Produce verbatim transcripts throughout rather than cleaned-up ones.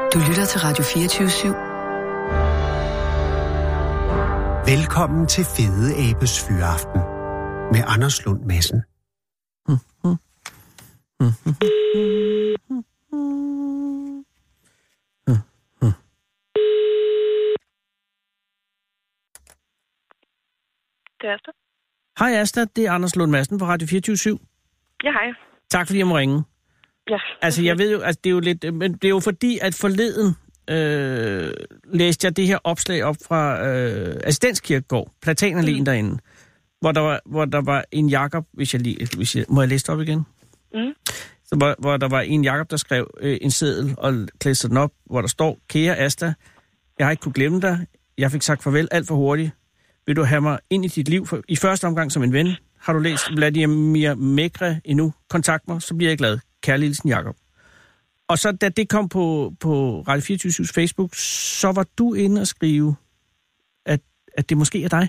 Du lytter til Radio fireogtyve syv. Velkommen til Fede Abes Fyraften med Anders Lund Madsen. Det er Asta. Hej Asta, det er Anders Lund Madsen på Radio fireogtyve syv. Ja, hej. Tak fordi jeg må ringe. Ja. Altså jeg ved jo, altså det er jo lidt, men det er jo fordi, at forleden øh, læste jeg det her opslag op fra øh, Assistenskirkegård, Platanerlæen mm. derinde, hvor der var, hvor der var en Jakob, hvis jeg lige, hvis jeg, må jeg læse det op igen? Mm. Så, hvor, hvor der var en Jakob, der skrev øh, en seddel og klædte den op, hvor der står: Kære Asta, jeg har ikke kunne glemme dig. Jeg fik sagt farvel alt for hurtigt. Vil du have mig ind i dit liv for, i første omgang som en ven? Har du læst Vladimir Megre endnu? Kontakt mig, så bliver jeg glad. Kærlig hilsen, Jakob. Og så da det kom på, på Radio fireogtyve syvs Facebook, så var du inde og skrive, at, at det måske er dig.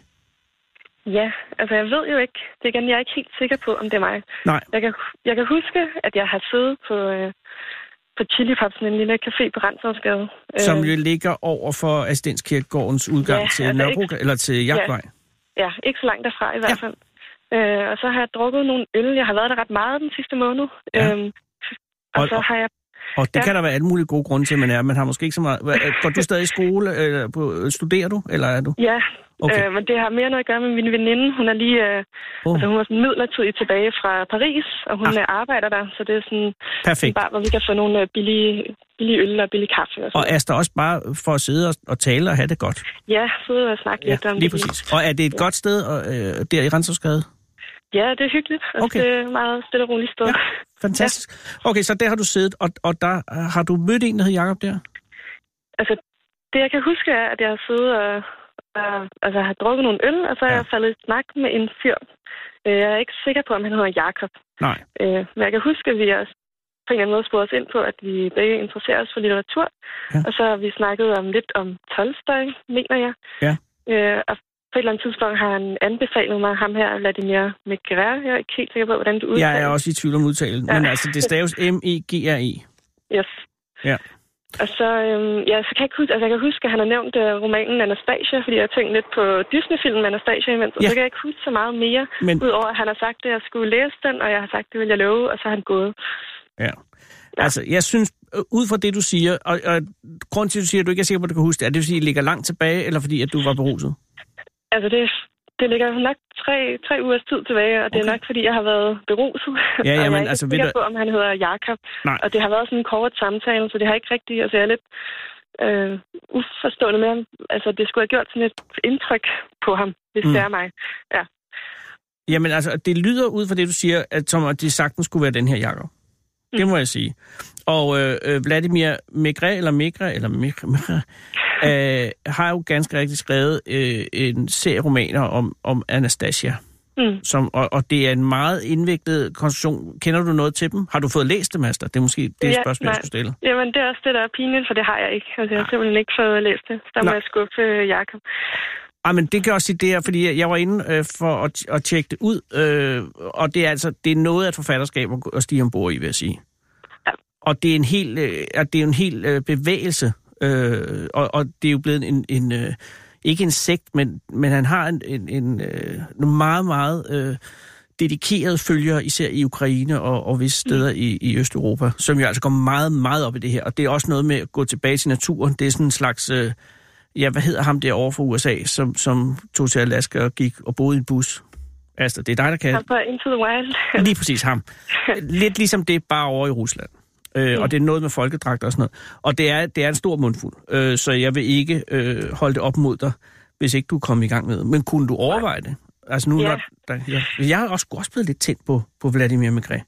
Ja, altså jeg ved jo ikke. Det igen, jeg er ikke helt sikker på, om det er mig. Nej. Jeg kan, jeg kan huske, at jeg har siddet på, øh, på Chili Popsen, en lille café på Renshavsgade. Som jo ligger over for Assistenskirkegårdens udgang ja, til altså Nørrebro, ikke, eller til Jagtvej. Ja, ja, ikke så langt derfra i hvert fald. Ja. Øh, og så har jeg drukket nogle øl. Jeg har været der ret meget den sidste måned. Ja. Øhm, og, og så har jeg... Og det ja. kan der være alle mulige gode grunde til, at man er. Man har måske ikke så meget... Går du stadig i skole? Eller på, studerer du? Eller er du? Ja, okay. øh, men det har mere noget at gøre med min veninde. Hun er lige... Øh, oh. altså, hun var sådan midlertidigt tilbage fra Paris, og hun ah. arbejder der. Så det er sådan... Perfekt. Bare, hvor vi kan få nogle billige, billige øl og billige kaffe. Og, og Asta også bare for at sidde og, og tale og have det godt? Ja, sidde og snakke ja, lidt om lige det. præcis. Og er det et ja. godt sted øh, der i Renshavsgade? Ja, det er hyggeligt. Altså, okay. Det er et meget stille og roligt sted. Ja, fantastisk. Ja. Okay, så der har du siddet, og, og der har du mødt en, der hedder Jakob der? Altså, det jeg kan huske er, at jeg har siddet og, og altså, har drukket nogle øl, og så er ja. jeg faldet i snak med en fyr. Jeg er ikke sikker på, om han hedder Jakob. Nej. Men jeg kan huske, at vi også på en eller anden måde spurgte os ind på, at vi begge interesserer os for litteratur. Ja. Og så har vi snakket om lidt om Tolstoj, mener jeg. Ja. Og på et eller andet tidspunkt har han anbefalet mig ham her, Vladimir Megre. Jeg er ikke helt sikker på, hvordan du udtaler. Jeg er også i tvivl om udtalen, ja. men altså det staves M E G R E. Yes. Ja. Og så, øhm, ja, så kan jeg, huske, altså jeg kan huske, at han har nævnt uh, romanen Anastasia, fordi jeg har tænkt lidt på Disney-filmen Anastasia imens, og ja. så kan jeg ikke huske så meget mere, men... udover at han har sagt, at jeg skulle læse den, og jeg har sagt, det vil jeg love, og så har han gået. Ja. Ja. Altså, jeg synes, ud fra det, du siger, og, og grund til, at du siger, at du ikke er sikker på, at du kan huske det, er det, fordi det ligger langt tilbage, eller fordi, at du var beruset? Altså, det, det ligger nok tre, tre ugers tid tilbage, og okay. det er nok, fordi jeg har været beruset. Ja, ja, og men, jeg er ikke altså, sikker du... på, om han hedder Jakob. Nej. Og det har været sådan en kort samtale, så det har ikke rigtigt... Altså, jeg er lidt øh, uforstående med ham. Altså, det skulle have gjort sådan et indtryk på ham, hvis mm. det er mig. Ja. Jamen, altså, det lyder ud fra det, du siger, at som at det sagtens skulle være den her Jakob. Mm. Det må jeg sige. Og øh, Vladimir Megre, eller Megre, eller Megre, Megre øh, har jo ganske rigtigt skrevet øh, en serie romaner om, om Anastasia. Mm. Som, og, og det er en meget indviklet konstruktion. Kender du noget til dem? Har du fået læst dem, Asta? Det er måske det ja, spørgsmål, jeg skulle stille. Jamen, det er også det, der er pinligt, for det har jeg ikke. Altså, jeg har simpelthen ikke fået læst det. Så der må jeg skuffe Jakob. Ah, men det kan også sige det her, fordi jeg var inde øh, for at, at tjekke det ud, øh, og det er altså det er noget af et forfatterskab at stige ombord i, vil jeg sige. Ja. Og det er en hel, øh, det er en hel øh, bevægelse, øh, og, og det er jo blevet en, en øh, ikke en sekt, men, men han har en, en, en øh, meget, meget øh, dedikeret følgere, især i Ukraine og, og visse steder mm. i, i Østeuropa, som jo altså går meget, meget op i det her. Og det er også noget med at gå tilbage til naturen. Det er sådan en slags... Øh, Ja, hvad hedder ham derovre fra U S A, som, som tog til Alaska og gik og boede i en bus? Altså, det er dig, der kan... Ham på Into the Wild. Lige præcis ham. Lidt ligesom det, bare over i Rusland. Øh, mm. Og det er noget med folkedragter og sådan noget. Og det er, det er en stor mundfuld, øh, så jeg vil ikke øh, holde det op mod dig, hvis ikke du kommer i gang med det. Men kunne du overveje det? Altså nu, ja. når, der, jeg, jeg har også, også blevet lidt tændt på, på Vladimir Megre.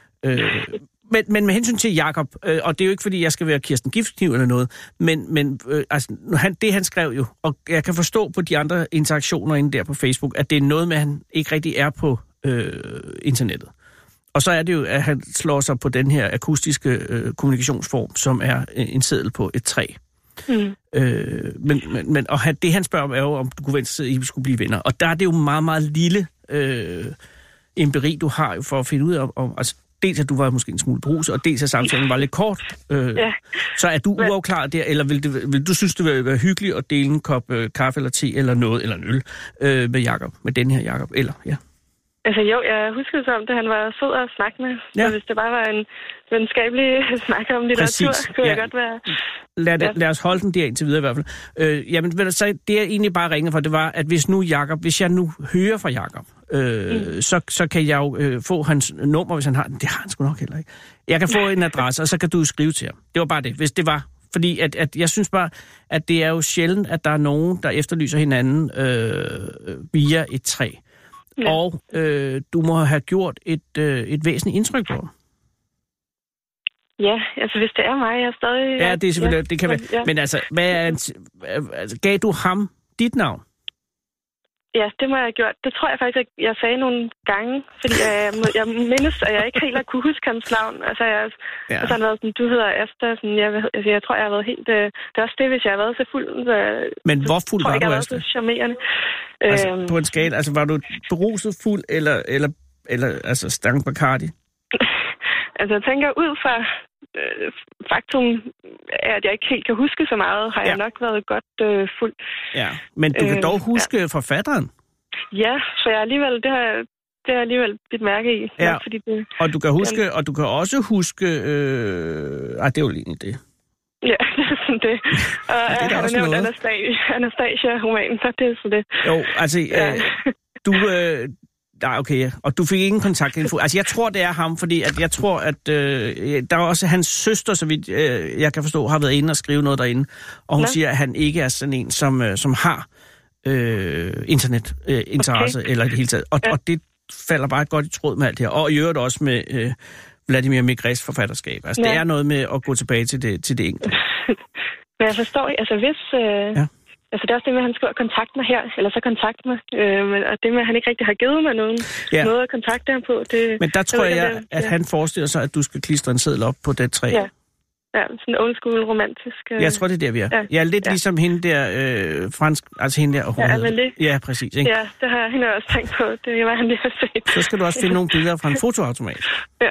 Øh, Men, men med hensyn til Jakob, øh, og det er jo ikke, fordi jeg skal være Kirsten Giftkniv eller noget, men, men øh, altså, han, det han skrev jo, og jeg kan forstå på de andre interaktioner inde der på Facebook, at det er noget med, at han ikke rigtig er på øh, internettet. Og så er det jo, at han slår sig på den her akustiske øh, kommunikationsform, som er en seddel på et træ. Mm. Øh, men, men, men, og han, det han spørger om er jo, om du kunne vente sig, at I skulle blive venner. Og der er det jo meget, meget lille... Øh, empiri, du har jo for at finde ud af, om, altså, dels at du var måske en smule beruset, og dels at samtalen var lidt kort. Øh, Ja. Så er du Men- uafklaret der, eller vil, det, vil du synes, det ville være hyggeligt at dele en kop øh, kaffe eller te eller noget, eller en øl øh, med Jakob, med den her Jakob, eller ja? Altså jo, jeg husker det som, at han var sød at snakke med. Ja. Så hvis det bare var en venskabelig snak om litteratur, Præcis, kunne jeg ja. godt være... Lad, Ja. lad os holde den der indtil videre i hvert fald. Øh, jamen, ved du, så det jeg egentlig bare ringede for, det var, at hvis nu Jakob, hvis jeg nu hører fra Jakob, øh, mm. så, så kan jeg jo øh, få hans nummer, hvis han har den. Det har han sgu nok heller ikke. Jeg kan få en adresse, og så kan du skrive til ham. Det var bare det, hvis det var. Fordi at, at jeg synes bare, at det er jo sjældent, at der er nogen, der efterlyser hinanden øh, via et træ. Ja. Og øh, du må have gjort et, øh, et væsentligt indtryk på ham. Ja, altså hvis det er mig, jeg er stadig... Ja, det er selvfølgelig, ja, det kan være. Ja. Men altså, hvad er en, altså, gav du ham dit navn? Ja, det må jeg have gjort. Det tror jeg faktisk, at jeg sagde nogle gange, fordi jeg, jeg mindes, at jeg ikke helt har kunne huske hans navn. Altså, jeg, ja. altså han har været sådan, du hedder Asta, sådan, jeg, altså, jeg tror, jeg har været helt... Øh, det er også det, hvis jeg har været så fuld. Så, Men hvor fuld tror, var jeg, du, jeg Asta? har været så charmerende. Altså, øhm, på en skala, altså var du beruset fuld, eller, eller, eller altså stang Bacardi? altså, jeg tænker ud fra øh, faktum, at jeg ikke helt kan huske så meget, har ja. jeg nok været godt øh, fuld. Ja, men du kan Øh, dog huske ja. forfatteren. Ja, så jeg alligevel, det har, det har jeg alligevel bidt mærke i. Ja. Nok, fordi det, Og du kan huske, og du kan også huske... Øh... Ej, det er jo lige det. ja, det er sådan det. Og det er da han også har nævnt noget. Anastasia, Anastasia-romanen, så det er sådan det. Jo, altså, Ja. øh, du... Øh... Nej, okay, ja. Og du fik ingen kontaktinfo. Altså, jeg tror, det er ham, fordi at jeg tror, at øh, der er også hans søster, så vidt øh, jeg kan forstå, har været inde og skrive noget derinde. Og hun Nå. siger, at han ikke er sådan en, som, øh, som har øh, internetinteresse øh, okay. eller i det hele taget. Og, Ja. og det falder bare godt i tråd med alt det her. Og i øvrigt også med øh, Vladimir Maigres forfatterskab. Altså, ja. det er noget med at gå tilbage til det, til det enkelte. Men jeg forstår ikke, altså hvis... Øh, Ja. Altså det er også det med, at han skriver kontakt mig her, eller så kontakt mig. Øh, men, og det med, at han ikke rigtig har givet mig nogen Ja. noget at kontakte ham på. Det, Men der tror ved jeg, ikke, om det- at ja. han forestiller sig, at du skal klistre en seddel op på det træ. Ja. Ja, sådan old school romantisk. Øh, Jeg tror, det er der, vi er. Ja. Jeg er lidt Ja. ligesom hende der, øh, fransk, altså hende der, og hun Ja, hedder- Amélie. Ja, præcis. Ikke? Ja, det har hende også tænkt på. Det var han lige har set. Så skal du også finde nogle billeder fra en fotoautomat. Ja.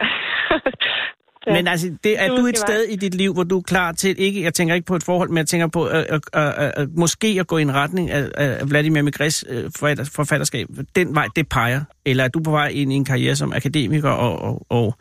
Ja. Men altså, det, er Du du et skal sted i dit liv, hvor du er klar til, ikke, jeg tænker ikke på et forhold, men jeg tænker på øh, øh, øh, øh, måske at gå i en retning af, af Vladimir Maigres øh, forfatter, forfatterskab. Den vej, det peger. Eller er du på vej ind i en karriere som akademiker og, og, og,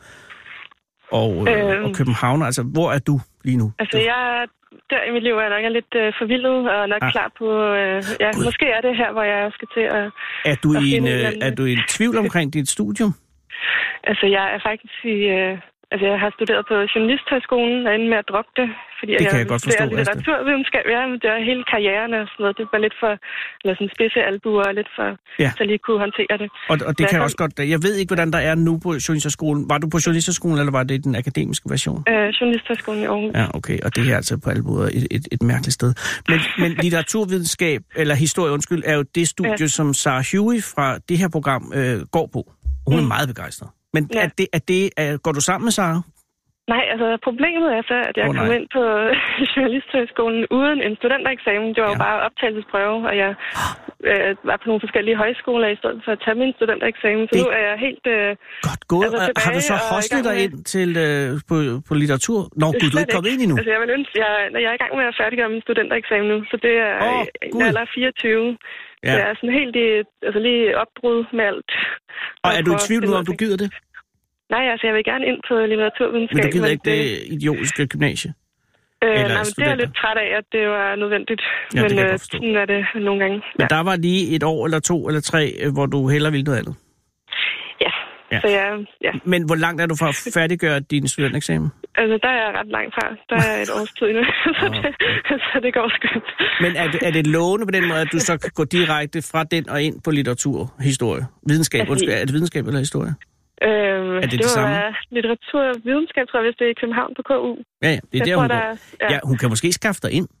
og, øh, Øhm. og københavner? Altså, hvor er du lige nu? Altså, jeg der i mit liv er jeg nok er lidt øh, forvildet og nok Ah. ah. klar på... Øh, ja, Gud. måske er det her, hvor jeg skal til at... Er du, at i en, finde en øh, eller anden- er du i en tvivl omkring dit studium? Altså, jeg er faktisk i... Øh, altså, jeg har studeret på Journalisthøjskolen og endte med at droppe det, fordi Det kan jeg jeg godt forstå, studerer Asta. litteraturvidenskab. Ja, men det er hele karrieren og sådan noget. Det var lidt for... Eller sådan spidse albuer og lidt for... Ja. Så jeg lige kunne håndtere det. Og, og det Men kan jeg jeg også godt... Jeg ved ikke, hvordan der er nu på Journalisterskolen. Var du på Journalisterskolen, eller var det den akademiske version? Øh, Journalisthøjskolen i Aarhus. Ja, okay. Og det her er altså på alle måder et, et, et mærkeligt sted. Men, men litteraturvidenskab, eller historie, undskyld, er jo det studie, ja. som Sarah Huey fra det her program øh, går på. Hun er Mm. meget begejstret. Men Ja. er det, er det, er, går du sammen med Sarah? Nej, altså problemet er så, at jeg Åh, oh, nej. kom ind på Journalisthøjskolen uden en studentereksamen. Det var jo Ja. bare optagelsesprøve, og jeg øh, var på nogle forskellige højskoler i stedet for at tage min studentereksamen. Så Det- nu er jeg helt... Øh, Godt gået. Altså, Altså, har du så tilbage og i hostlet gang dig med- ind til, øh, på, på litteratur? Nå, gud, du er slet ikke kommet ind endnu. Altså, jeg vil ønske, jeg, når jeg er i gang med at færdiggøre min studentereksamen nu, så det er Åh, oh, Gud. en alder fireogtyve. Ja. Så jeg er sådan helt i, altså lige opbrud med alt. Og er du i prøve at tvivl nu, finde om ud du af gider det? Nej, altså jeg vil gerne ind på litteraturvidenskab. Men du gider men ikke det idiotiske gymnasie? Øh, Eller nej, men det er jeg studenter. lidt træt af, at det var nødvendigt. Ja, det men kan jeg øh, godt forstå. sådan er det nogle gange. Men Ja. der var lige et år eller to eller tre, øh, hvor du hellere ville noget andet. ja. Ja. Så jeg, ja. Men hvor langt er du fra at færdiggøre din studentereksamen? Altså, der er jeg ret langt fra. Der er et års tid endnu, så, det, så det går skønt. Men er det, er det lovende på den måde, at du så kan gå direkte fra den og ind på litteratur, historie, videnskab? Altså, Undskyld, er det videnskab eller historie? Øhm, det det det samme? var litteratur og videnskab, tror jeg, hvis det er i København på K U. Ja, ja, det er Jeg der, tror, hun der går. er- ja. Ja, hun kan måske skaffe dig ind.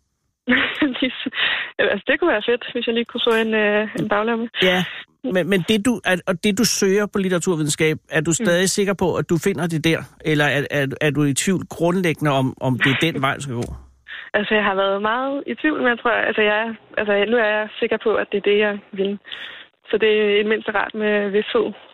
altså, det kunne være fedt, hvis jeg lige kunne få en, øh, en baglomme. Ja, men, men det, du, er, og det, du søger på litteraturvidenskab, er du stadig mm. sikker på, at du finder det der? Eller er, er, er du i tvivl grundlæggende om, om det er den vej, du skal gå? Altså, jeg har været meget i tvivl, men jeg tror, altså, jeg, er- altså, nu er jeg sikker på, at det er det, jeg vil. Så det er i det mindste rart med vidshed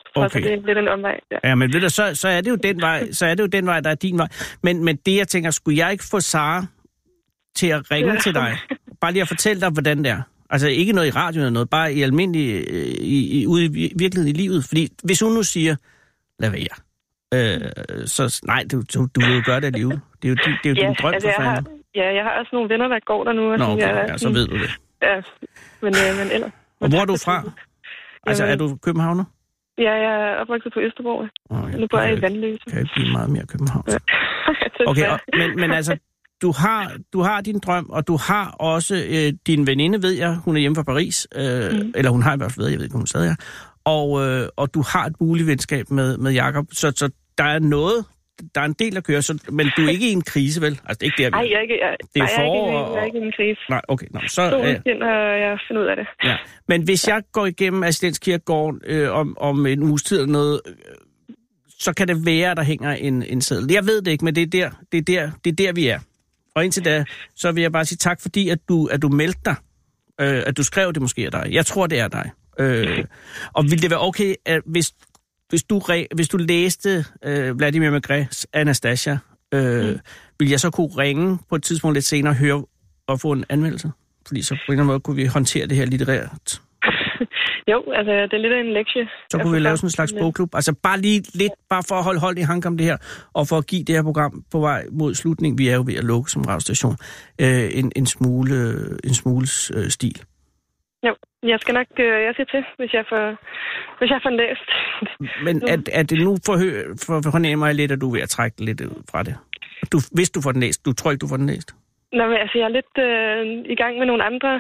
Okay. Så det er lidt en omvej. Ja, ja men ved du, så, så, er det jo den vej, så er det jo den vej, der er din vej. Men, men det, jeg tænker, skulle jeg ikke få Sara til at ringe ja. til dig? Bare lige at fortælle dig, hvordan det er. Altså ikke noget i radioen eller noget, bare i almindelig, i, i, ude i virkeligheden i livet. Fordi hvis hun nu siger, lad være, øh, så nej, du, du, du vil jo gøre det alligevel. Det er jo, det, det er jo ja, din drøm altså, for fanden. Ja, jeg har også nogle venner, der går der nu. Og Nå, okay, jeg, ja, så ved du det. Ja, men, øh, men ellers. Og hvor er du fra? Altså, er du københavner? Ja, jeg er opvokset på Østerbro. Oh, ja. Nu bor jeg i Vandløse. Kan ikke blive meget mere København. Ja. Okay, og, men, men altså, du har, du har din drøm, og du har også øh, din veninde, ved jeg, hun er hjemme fra Paris, øh, mm. eller hun har i hvert fald været, jeg ved ikke, hun stadig er, og, øh, og du har et muligt venskab med, med Jakob, så, så der er noget, der er en del at køre, så, men du er ikke i en krise, vel? Altså, det er ikke der, Nej, jeg er ikke, jeg, det er nej, forår, jeg er ikke, jeg er ikke i en krise. Nej, okay. Nå, så øh, og jeg finder ud af det. Ja. Men hvis ja. jeg går igennem Assistenskirkegården øh, om, om en uges tid eller noget, øh, så kan det være, at der hænger en, en seddel. Jeg ved det ikke, men det er der, det er der, det er der vi er. Og indtil da, så vil jeg bare sige tak, fordi at du, at du meldte dig. Øh, at du skrev, det måske er dig. Jeg tror, det er dig. Øh, og ville det være okay, at hvis, hvis, du, hvis du læste øh, Vladimir Maigret's Anastasia, øh, mm. ville jeg så kunne ringe på et tidspunkt lidt senere og høre og få en anmeldelse? Fordi så på en eller anden måde kunne vi håndtere det her litterært. Jo, altså det er lidt af en lektie. Så kunne vi lave sådan en slags bogklub. Altså bare lige lidt, bare for at holde hold i hanke om det her, og for at give det her program på vej mod slutning, vi er jo ved at lukke som radiostation, øh, en, en smule, en smule øh, stil. Jo, jeg skal nok, øh, jeg siger til, hvis jeg får, hvis jeg får læst. Men er, er det nu for, for, for fornemmer jeg lidt, at du er ved at trække lidt fra det? Du, hvis du får den læst, du tror ikke, du får den læst? Nå, men altså, jeg er lidt øh, i gang med nogle andre.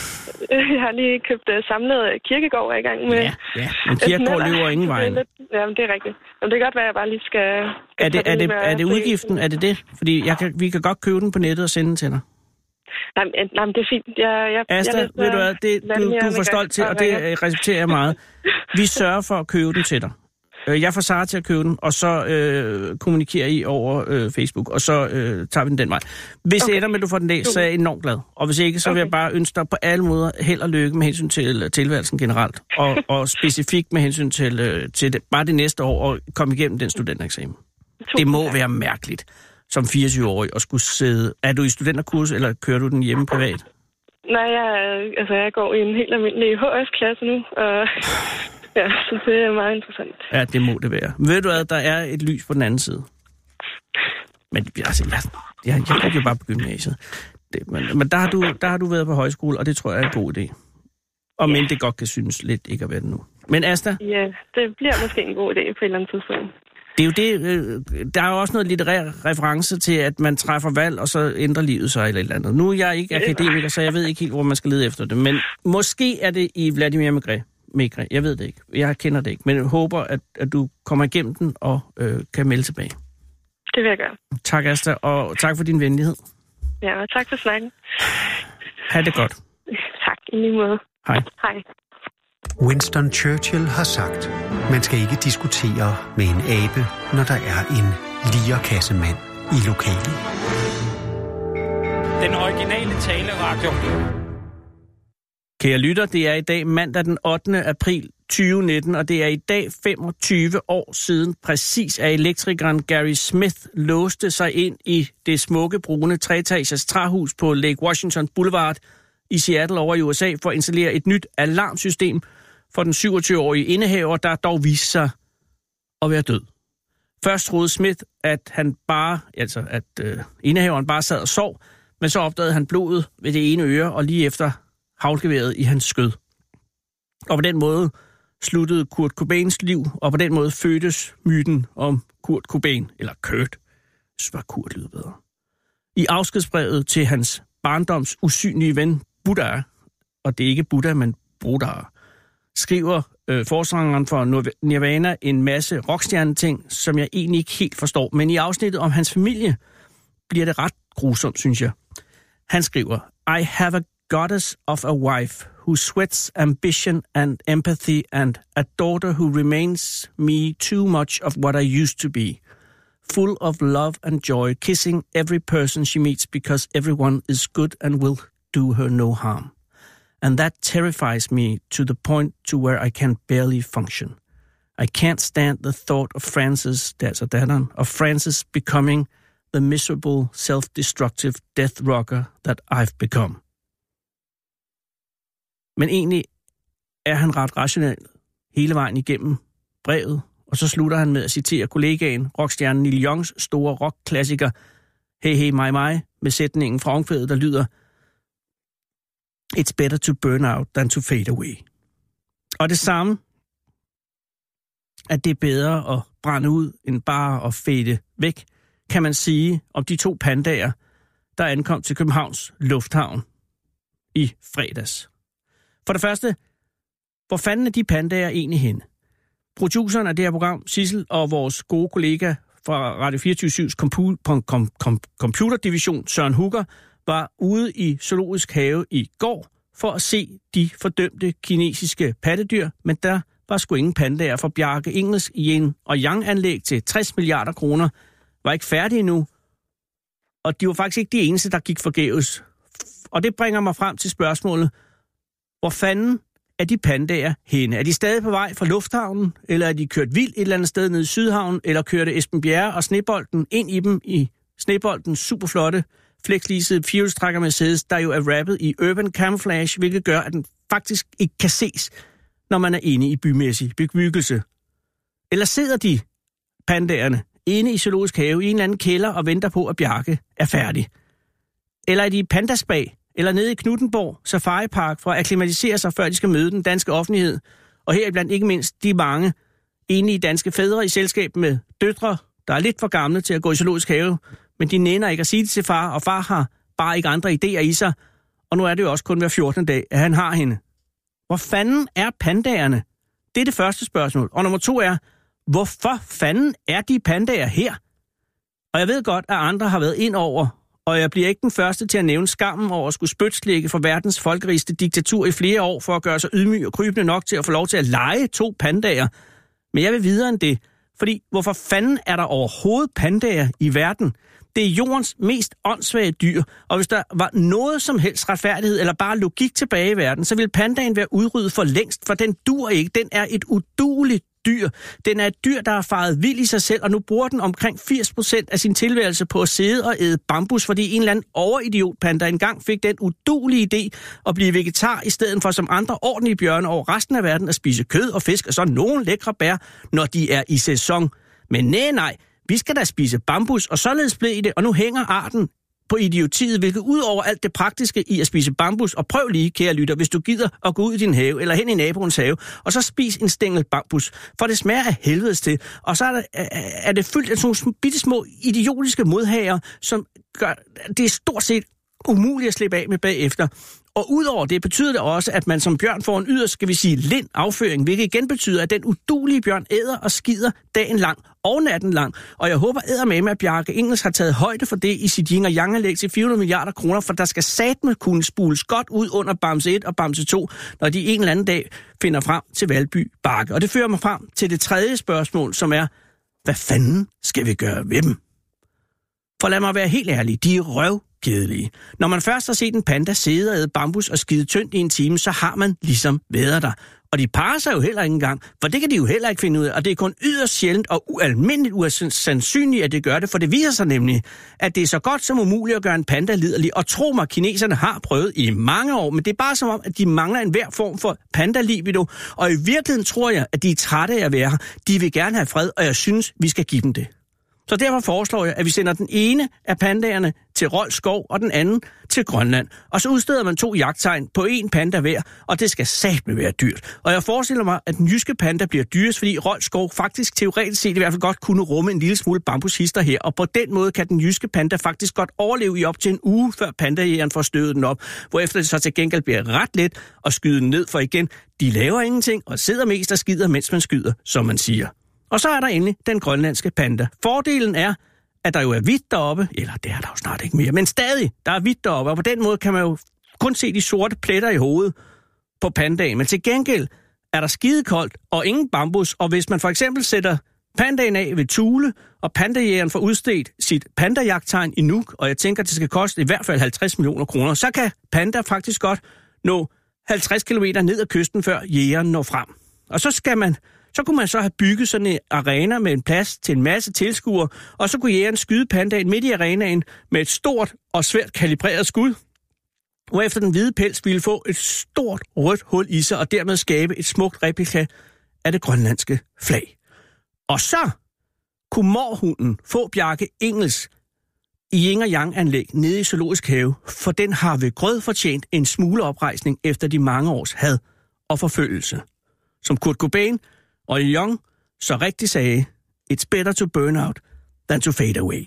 Jeg har lige købt uh, samlet Kirkegård, er i gang med. Ja, ja. Men Kirkegård løber ingen vej. Ja, men det er rigtigt. Men det kan godt være, at jeg bare lige skal... skal er det, er det, er det udgiften? Er det det? Fordi jeg kan, vi kan godt købe den på nettet og sende den til dig. Nej, men, nej, men det er fint. Jeg, jeg, Asta, jeg ved du hvad, det, du, du er for stolt til, og det respekterer jeg meget. Vi sørger for at købe den til dig. Jeg får Sara til at købe den, og så øh, kommunikerer I over øh, Facebook, og så øh, tager vi den den vej. Hvis okay. det ender med, at du får den læst, så er jeg enormt glad. Og hvis ikke, så okay. vil jeg bare ønske dig på alle måder held og lykke med hensyn til tilværelsen generelt, og, og specifikt med hensyn til, øh, til det, bare det næste år, og komme igennem den studentereksamen. Det må være mærkeligt, som fireogtyve-årig, at skulle sidde... Er du i studenterkurs, eller kører du den hjemme privat? Nej, jeg, altså, jeg går i en helt almindelig H F-klasse nu, og... Ja, så det er meget interessant. Ja, det må det være. Ved du hvad, der er et lys på den anden side. Men altså, jeg, jeg, jeg kan jo bare på gymnasiet. Det, men men der, har du, der har du været på højskole, og det tror jeg er en god idé. Og ja. Men det godt kan synes lidt ikke at være det nu. Men Asta? Ja, det bliver måske en god idé på et eller andet tidspunkt. Det er jo det, øh, der er jo også noget litterær reference til, at man træffer valg, og så ændrer livet sig eller et eller andet. Nu er jeg ikke akademiker, så jeg ved ikke helt, hvor man skal lede efter det. Men måske er det i Vladimir Maigret. Maigret. Jeg ved det ikke. Jeg kender det ikke. Men jeg håber, at, at du kommer igennem den og øh, kan melde tilbage. Det vil jeg gøre. Tak, Asta, og tak for din venlighed. Ja, og tak for snakken. Ha' det godt. Tak, i lige måde. Hej. Hej. Winston Churchill har sagt, man skal ikke diskutere med en abe, når der er en lierkassemand i lokalet. Den originale taleradio. Kære lytter, det er i dag mandag den ottende april tyve nitten, og det er i dag femogtyve år siden præcis, at elektrikeren Gary Smith låste sig ind i det smukke, brune treetagers træhus på Lake Washington Boulevard i Seattle over i U S A for at installere et nyt alarmsystem for den syvogtyve-årige indehaver, der dog viste sig at være død. Først troede Smith, at han bare, altså at øh, indehaveren bare sad og sov, men så opdagede han blodet ved det ene øre og lige efter haglgeværet i hans skød. Og på den måde sluttede Kurt Cobains liv, og på den måde fødtes myten om Kurt Cobain, eller Kurt, så var Kurt lyder bedre. I afskedsbrevet til hans barndoms usynlige ven Buddha, og det er ikke Buddha, men Buddha, skriver øh, forsangeren for Nirvana en masse rockstjerneting, som jeg egentlig ikke helt forstår. Men i afsnittet om hans familie bliver det ret grusomt, synes jeg. Han skriver, I have a goddess of a wife who sweats ambition and empathy and a daughter who remains me too much of what I used to be. Full of love and joy, kissing every person she meets because everyone is good and will do her no harm. And that terrifies me to the point to where I can barely function. I can't stand the thought of Francis, altså datteren, of Francis becoming the miserable, self-destructive death rocker that I've become. Men egentlig er han ret rationel hele vejen igennem brevet, og så slutter han med at citere kollegaen, rockstjernen Neil Youngs store rockklassiker Hey Hey My My, med sætningen fra omkvædet, der lyder It's better to burn out than to fade away. Og det samme, at det er bedre at brænde ud, end bare at fade væk, kan man sige om de to pandaer, der ankom til Københavns Lufthavn i fredags. For det første, hvor fanden er de pandaer egentlig henne? Produceren af det her program, Sissel, og vores gode kollega fra Radio fireogtyve syv's compu- kom- kom- computerdivision, Søren Hugger, var ude i Zoologisk Have i går for at se de fordømte kinesiske pattedyr, men der var sgu ingen pandaer, for Bjarke Ingels yin- og yang-anlæg til tres milliarder kroner var ikke færdige endnu, og de var faktisk ikke de eneste, der gik forgæves. Og det bringer mig frem til spørgsmålet, hvor fanden er de pandaer henne? Er de stadig på vej fra lufthavnen, eller er de kørt vildt et eller andet sted nede i Sydhavnen, eller kørte Esben Bjerre og Snebolden ind i dem i Sneboldens superflotte flexleasede firehjulstrækker Mercedes, der jo er rappet i urban camouflage, hvilket gør, at den faktisk ikke kan ses, når man er inde i bymæssig bebyggelse. Eller sidder de pandaerne inde i Zoologisk Have i en eller anden kælder og venter på, at Bjarke er færdig? Eller er de i Pandaspag, eller nede i Knuthenborg Safari Park for at akklimatisere sig, før de skal møde den danske offentlighed? Og heriblandt ikke mindst de mange enige danske fædre i selskab med døtre, der er lidt for gamle til at gå i Zoologisk Have, men de nænder ikke at sige det til far, og far har bare ikke andre idéer i sig. Og nu er det jo også kun hver fjortende dag, at han har hende. Hvor fanden er pandaerne? Det er det første spørgsmål. Og nummer to er, hvorfor fanden er de pandaer her? Og jeg ved godt, at andre har været ind over, og jeg bliver ikke den første til at nævne skammen over at skulle spytslægge for verdens folkerigeste diktatur i flere år, for at gøre sig ydmyg og krybende nok til at få lov til at lege to pandaer. Men jeg vil videre end det, fordi hvorfor fanden er der overhovedet pandaer i verden? Det er jordens mest åndssvage dyr, og hvis der var noget som helst retfærdighed eller bare logik tilbage i verden, så ville pandaen være udryddet for længst, for den dur ikke. Den er et udueligt dyr. Den er et dyr, der har faret vild i sig selv, og nu bruger den omkring firs procent af sin tilværelse på at sidde og æde bambus, fordi en eller anden overidiotpanda engang fik den uduelige idé at blive vegetar, i stedet for som andre ordentlige bjørne over resten af verden at spise kød og fisk, og så nogle lækre bær, når de er i sæson. Men nej, nej, vi skal da spise bambus, og således blev det, og nu hænger arten på idiotiet, hvilket ud over alt det praktiske i at spise bambus, og prøv lige, kære lytter, hvis du gider at gå ud i din have, eller hen i naboens have, og så spis en stængel bambus, for det smager af helvedes til, og så er det, er det fyldt af sådan nogle bitte små idiotiske modhager, som gør, det er stort set umuligt at slippe af med bagefter. Og udover det betyder det også, at man som bjørn får en yderst, skal vi sige, lind afføring, hvilket igen betyder, at den uduelige bjørn æder og skider dagen lang og natten lang. Og jeg håber eddermame, at Bjarke Ingels har taget højde for det i sit yin og yang-anlæg til fire hundrede milliarder kroner, for der skal satme kunne spules godt ud under Bamse et og Bamse to, når de en eller anden dag finder frem til Valby Bakke. Og det fører mig frem til det tredje spørgsmål, som er, hvad fanden skal vi gøre ved dem? For lad mig være helt ærlig, de er røvkedelige. Når man først har set en panda sidde og æde bambus og skide tyndt i en time, så har man ligesom været der. Og de parer sig jo heller ikke engang, for det kan de jo heller ikke finde ud af, og det er kun yderst sjældent og ualmindeligt usandsynligt, at det gør det, for det viser sig nemlig, at det er så godt som umuligt at gøre en panda liderlig, og tro mig, kineserne har prøvet i mange år, men det er bare som om, at de mangler en hver form for panda-libido, og i virkeligheden tror jeg, at de er trætte af at være her. De vil gerne have fred, og jeg synes, vi skal give dem det. Så derfor foreslår jeg, at vi sender den ene af pandaerne til Rold Skov og den anden til Grønland. Og så udsteder man to jagttegn på en panda hver, og det skal satme være dyrt. Og jeg forestiller mig, at den jyske panda bliver dyrest, fordi Rold Skov faktisk teoretisk set i hvert fald godt kunne rumme en lille smule bambushister her. Og på den måde kan den jyske panda faktisk godt overleve i op til en uge, før pandajægeren får støvet den op. Hvorefter det så til gengæld bliver ret let at skyde den ned, for igen, de laver ingenting og sidder mest og skider, mens man skyder, som man siger. Og så er der endelig den grønlandske panda. Fordelen er, at der jo er hvidt deroppe, eller det er der jo snart ikke mere, men stadig, der er hvidt deroppe, og på den måde kan man jo kun se de sorte pletter i hovedet på pandaen. Men til gengæld er der skidekoldt og ingen bambus, og hvis man for eksempel sætter pandaen af ved Thule, og pandajægeren får udstedt sit pandajagttegn i Nuuk, og jeg tænker, at det skal koste i hvert fald halvtreds millioner kroner, så kan panda faktisk godt nå halvtreds kilometer ned ad kysten, før jægeren når frem. Og så skal man Så kunne man så have bygget sådan en arena med en plads til en masse tilskuere, og så kunne jægeren skyde pandaen midt i arenaen med et stort og svært kalibreret skud, hvorefter den hvide pels ville få et stort rødt hul i sig, og dermed skabe et smukt replika af det grønlandske flag. Og så kunne morhunden få Bjarke Ingels i Yin og Yang-anlæg nede i Zoologisk Have, for den har ved grød fortjent en smule oprejsning efter de mange års had og forfølgelse. Som Kurt Cobain og Young så rigtig sagde, it's better to burn out than to fade away.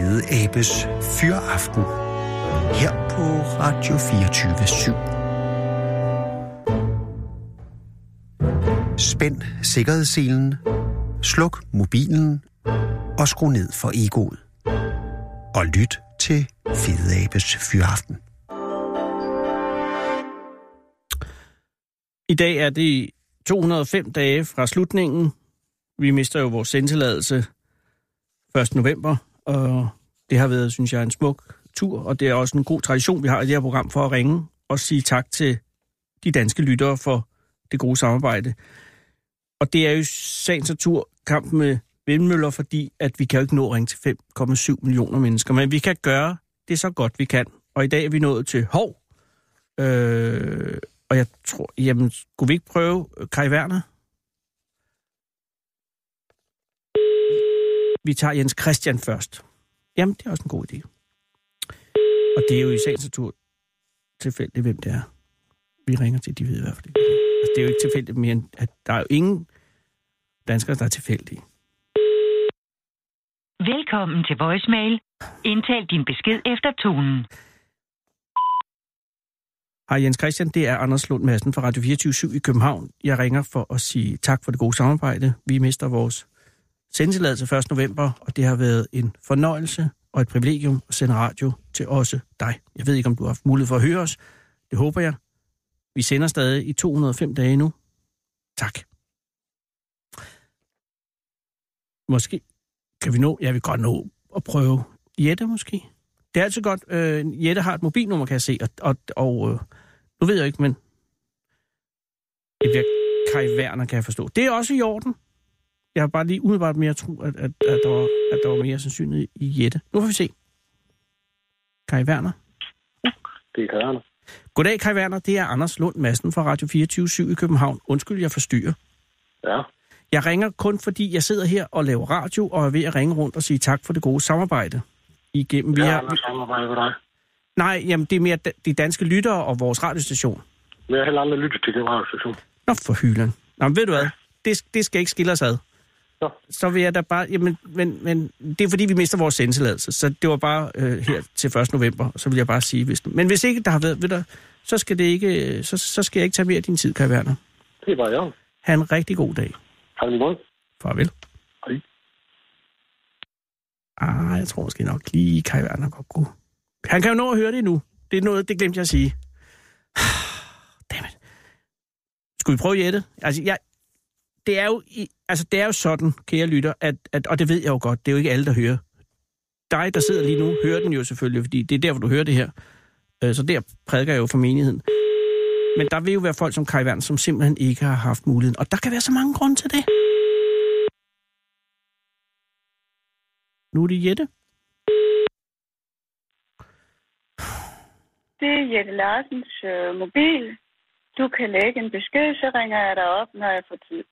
Fede Abes Fyraften her på Radio fireogtyve syv. Spænd sikkerhedsselen, sluk mobilen og skru ned for egoet. Og lyt til Fede Abes Fyraften. I dag er det to hundrede og fem dage fra slutningen. Vi mister jo vores sendtilladelse første november, og det har været, synes jeg, en smuk tur, og det er også en god tradition, vi har i det her program for at ringe og sige tak til de danske lyttere for det gode samarbejde. Og det er jo sagens natur kampen med vindmøller, fordi at vi kan jo ikke nå at ringe til fem komma syv millioner mennesker, men vi kan gøre det så godt vi kan. Og i dag er vi nået til Hov, øh, og jeg tror, jamen, skulle vi ikke prøve Kai Werner? Vi tager Jens Christian først. Jamen, det er også en god idé. Og det er jo i sagens natur tilfældigt, hvem det er. Vi ringer til, de ved i hvert fald ikke. Altså, det er jo ikke tilfældigt mere, end at der er jo ingen danskere, der er tilfældige. Velkommen til voicemail. Indtal din besked efter tonen. Hej Jens Christian, det er Anders Lund Madsen fra Radio fireogtyve syv i København. Jeg ringer for at sige tak for det gode samarbejde. Vi mister vores sendtilladelse første november, og det har været en fornøjelse og et privilegium at sende radio til også dig. Jeg ved ikke, om du har haft mulighed for at høre os. Det håber jeg. Vi sender stadig i to hundrede og fem dage nu. Tak. Måske kan vi nå, jeg vil godt nå at prøve Jette måske. Det er altid godt. Øh, Jette har et mobilnummer, kan jeg se, og, og, og øh, nu ved jeg ikke, men det bliver Kai Werner, kan jeg forstå. Det er også i orden. Jeg har bare lige umiddelbart mere tro, at, at, at, der var, at der var mere sandsynlighed i Jette. Nu får vi se. Kai Werner. Det er Kai Werner. Goddag, Kai Werner. Det er Anders Lund Madsen fra Radio fireogtyve syv i København. Undskyld, jeg forstyrrer. Ja. Jeg ringer kun, fordi jeg sidder her og laver radio, og er ved at ringe rundt og sige tak for det gode samarbejde. Igennem Vi har andre samarbejde med dig. Nej, jamen det er mere de danske lyttere og vores radiostation. Vi har heller aldrig lyttet til den radiostation. Nå, for hylden. Nå, men ved du hvad? Det, det skal ikke skille os ad. Ja. Så vil jeg da bare... Jamen, men, men det er fordi, vi mister vores sendtilladelse. Så det var bare øh, her til første november. Så vil jeg bare sige... Hvis, men hvis ikke der har været... Ved du, så skal det ikke... Så, så skal jeg ikke tage mere af din tid, Kai Werner. Det er bare jeg. Ha' en rigtig god dag. Ha' en god. Farvel. Hej. Ah, jeg tror måske nok lige Kai Werner godt kunne. Han kan jo nå at høre det nu. Det er noget, det glemte jeg at sige. Dammit. Skulle vi prøve Jette? Altså, jeg, det er jo, altså, det er jo sådan, kære lytter, at, at, og det ved jeg jo godt, det er jo ikke alle, der hører. Dig, der sidder lige nu, hører den jo selvfølgelig, fordi det er der, hvor du hører det her. Så der prædiker jeg jo for menigheden. Men der vil jo være folk som Kai Werner, som simpelthen ikke har haft muligheden. Og der kan være så mange grunde til det. Nu er det Jette. Det er Jette Larsens øh, mobil. Du kan lægge en besked, så ringer jeg dig op, når jeg får tid.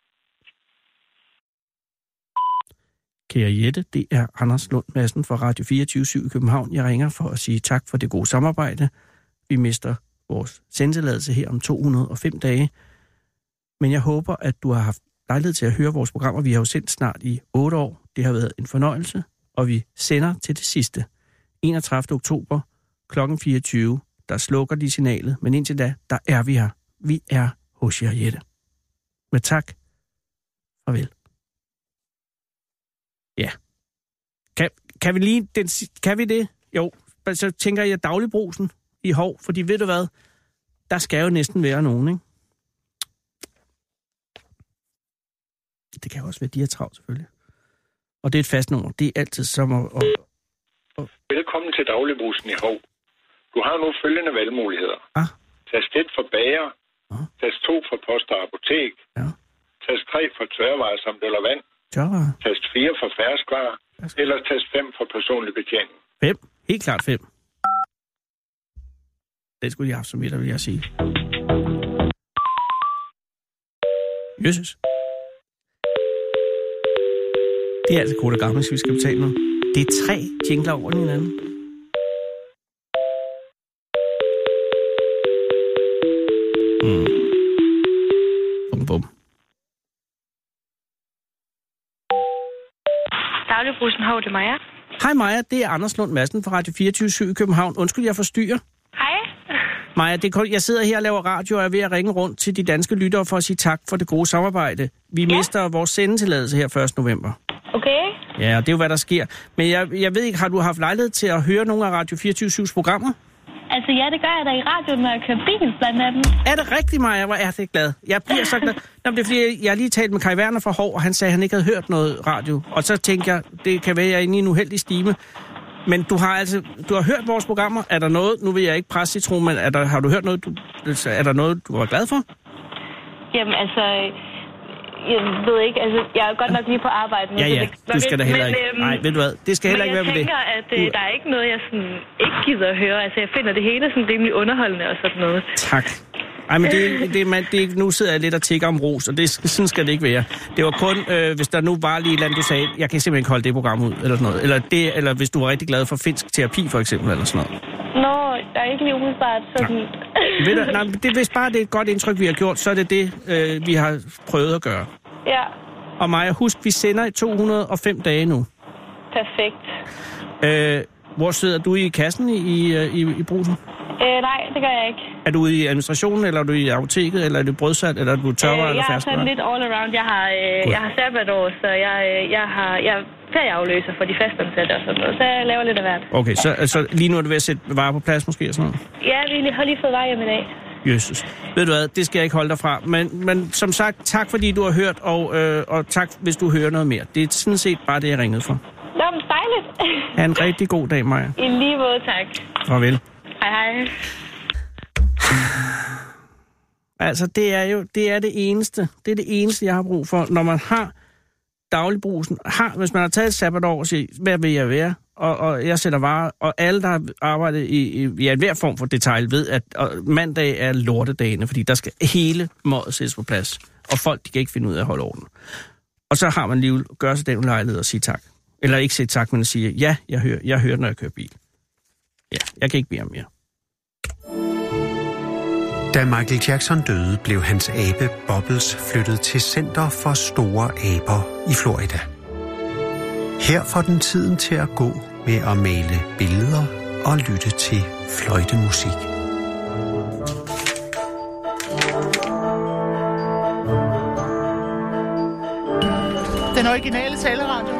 Kære Jette, det er Anders Lund Madsen fra Radio fireogtyve syv i København. Jeg ringer for at sige tak for det gode samarbejde. Vi mister vores sendtilladelse her om to hundrede og fem dage. Men jeg håber, at du har haft lejlighed til at høre vores programmer. Vi har jo sendt snart i otte år. Det har været en fornøjelse, og vi sender til det sidste. enogtredivte oktober klokken fireogtyve. Der slukker de signalet, men indtil da, der er vi her. Vi er hos jer, Jette. Med tak. Farvel. Ja. Kan, kan vi lige... Den, kan vi det? Jo, så tænker jeg dagligbrusen i Hov, fordi ved du hvad? Der skal jo næsten være nogen, ikke? Det kan jo også være diatravt, selvfølgelig. Og det er et fast nummer. Det er altid som at... at, at... Velkommen til dagligbrusen i Hov. Du har nu følgende valgmuligheder. Ah. Tast et for bager. Ah. Tast to for post og apotek. Ja. Tast tre for tørvarer samt eller vand. Tørvarer. Tast fire for ferskvarer. Eller tast fem for personlig betjening. Fem. Helt klart fem. Det skulle jeg have haft som et, vil jeg sige. Jesus. Det er altså kort og gammel, hvis vi skal betale noget. Det er tre jingler over hinanden. Mm. Bum, bum. Dagligbrusen, hov, det er Maja. Hej Maja, det er Anders Lund Madsen fra Radio fireogtyve syv i København. Undskyld, jeg forstyrrer. Hej. Maja, det er, jeg sidder her og laver radio og er ved at ringe rundt til de danske lyttere for at sige tak for det gode samarbejde. Vi ja. mister vores sendetilladelse her første november. Okay. Ja, det er jo, hvad der sker. Men jeg, jeg ved ikke, har du haft lejlighed til at høre nogle af Radio fireogtyve syvs programmer? Altså ja, det gør jeg da i radioen, når jeg kører bil blandt andet. Er det rigtigt, Maja? Hvor er det glad. Jeg bliver så glad. Nå, det er fordi, jeg har lige talt med Kai Werner fra Hov, og han sagde, at han ikke havde hørt noget radio. Og så tænkte jeg, det kan være, at jeg er inde i en uheldig stime. Men du har altså, du har hørt vores programmer. Er der noget, nu vil jeg ikke presse citron, men er der, har du hørt noget, du, er der noget, du var glad for? Jamen altså, jeg ved ikke, altså, jeg er godt nok lige på arbejde. Ja, ja, det, du skal da heller men, ikke. Øhm, Nej, ved du hvad, det skal heller ikke være med det. Men jeg tænker, at øh, der er ikke noget, jeg sådan ikke gider at høre. Altså, jeg finder det hele sådan rimelig underholdende og sådan noget. Tak. Ej, men det, det, man, det, nu sidder jeg lidt og tigger om ros, og det, sådan skal det ikke være. Det var kun, øh, hvis der nu var lige et eller andet, du sagde, jeg kan simpelthen ikke holde det program ud, eller sådan noget. Eller, det, eller hvis du var rigtig glad for finsk terapi, for eksempel, eller sådan noget. Nå, der er ikke lige umiddelbart sådan... Ved du, nej, det, hvis bare det er et godt indtryk, vi har gjort, så er det det, øh, vi har prøvet at gøre. Ja. Og Maja, husk, vi sender i to hundrede og fem dage nu. Perfekt. Øh, hvor sidder du i kassen i, i, i, i Brugsen? Øh, nej, det gør jeg ikke. Er du i administrationen, eller er du i apoteket, eller er du brødsat, eller er du tørrer øh, eller færdsvarer? Jeg er færdsvarer? sådan lidt all around. Jeg har, øh, jeg har sabbatår, så jeg, øh, jeg har jeg er ferieafløser for de fastansatte og sådan noget. Så jeg laver lidt af hvert. Okay, så altså, lige nu er du ved at sætte varer på plads måske og sådan noget? Ja, vi har lige fået vej hjem i dag. Jesus. Ved du hvad, det skal jeg ikke holde dig fra. Men, men som sagt, tak fordi du har hørt, og, øh, og tak hvis du hører noget mere. Det er sådan set bare det, jeg ringede for. Nå, men dejligt. Ha' en rigtig god dag, Maja. I lige måde, tak. Farvel. Hej, hej. Altså, det er jo det er det eneste. Det er det eneste, jeg har brug for. Når man har dagligbrusen, har, hvis man har taget et sabbatår og siger, hvad vil jeg være? Og, og jeg sætter varer, og alle, der har arbejdet i, i ja, hver form for detail, ved, at og mandag er lortedagene, fordi der skal hele mådet sættes på plads. Og folk, de kan ikke finde ud af at holde orden. Og så har man lige gør sig den lejlighed og sige tak. Eller ikke sige tak, men at sige, ja, jeg hører, jeg hører, når jeg kører bil. Ja, jeg kan ikke bede om mere. Da Michael Jackson døde, blev hans abe Bubbles flyttet til Center for Store Aber i Florida. Her får den tiden til at gå med at male billeder og lytte til fløjtemusik. Den originale taleradio.